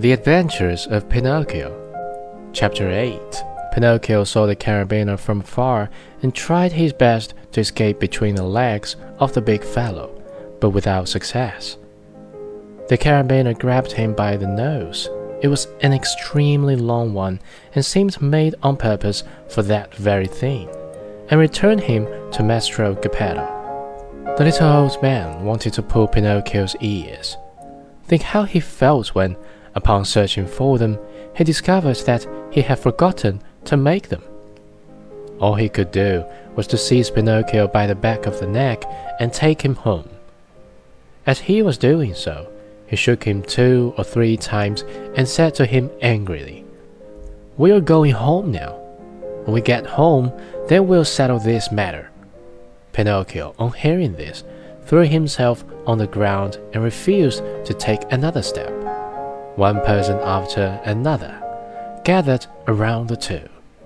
The Adventures of Pinocchio. Chapter 8. Pinocchio saw the carabiner from afar and tried his best to escape between the legs of the big fellow, but without success. The carabiner grabbed him by the nose. It was an extremely long one and seemed made on purpose for that very thing, and returned him to Maestro Geppetto. The little old man wanted to pull Pinocchio's ears. Think how he felt when, upon searching for them, he discovered that he had forgotten to make them. All he could do was to seize Pinocchio by the back of the neck and take him home. As he was doing so, he shook him 2 or 3 times and said to him angrily, "We are going home now. When we get home, then we'll settle this matter." Pinocchio, on hearing this, threw himself on the ground and refused to take another step. One person after another gathered around the two.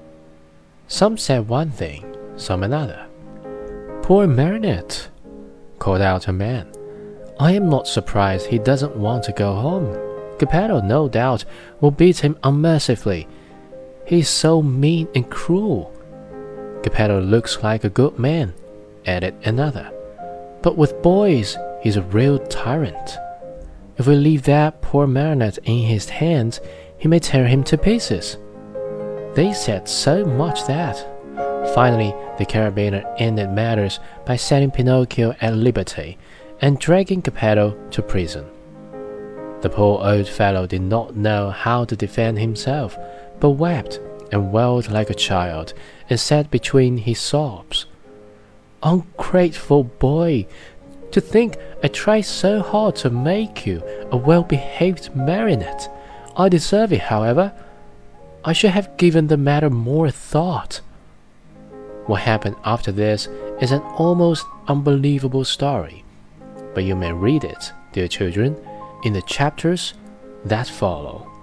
Some said one thing, some another. "Poor Marionette," called out a man. "I am not surprised he doesn't want to go home. Geppetto, no doubt, will beat him unmercifully. He is so mean and cruel." "Geppetto looks like a good man," added another. "But with boys, he's a real tyrant. If we leave that poor Marionette in his hands, he may tear him to pieces." They said so much that, finally, the carabiner ended matters by setting Pinocchio at liberty and dragging Geppetto to prison. The poor old fellow did not know how to defend himself, but wept and wailed like a child, and said between his sobs, "Ungrateful boy! To think I tried so hard to make you a well-behaved marionette. I deserve it, however. I should have given the matter more thought." What happened after this is an almost unbelievable story, but you may read it, dear children, in the chapters that follow.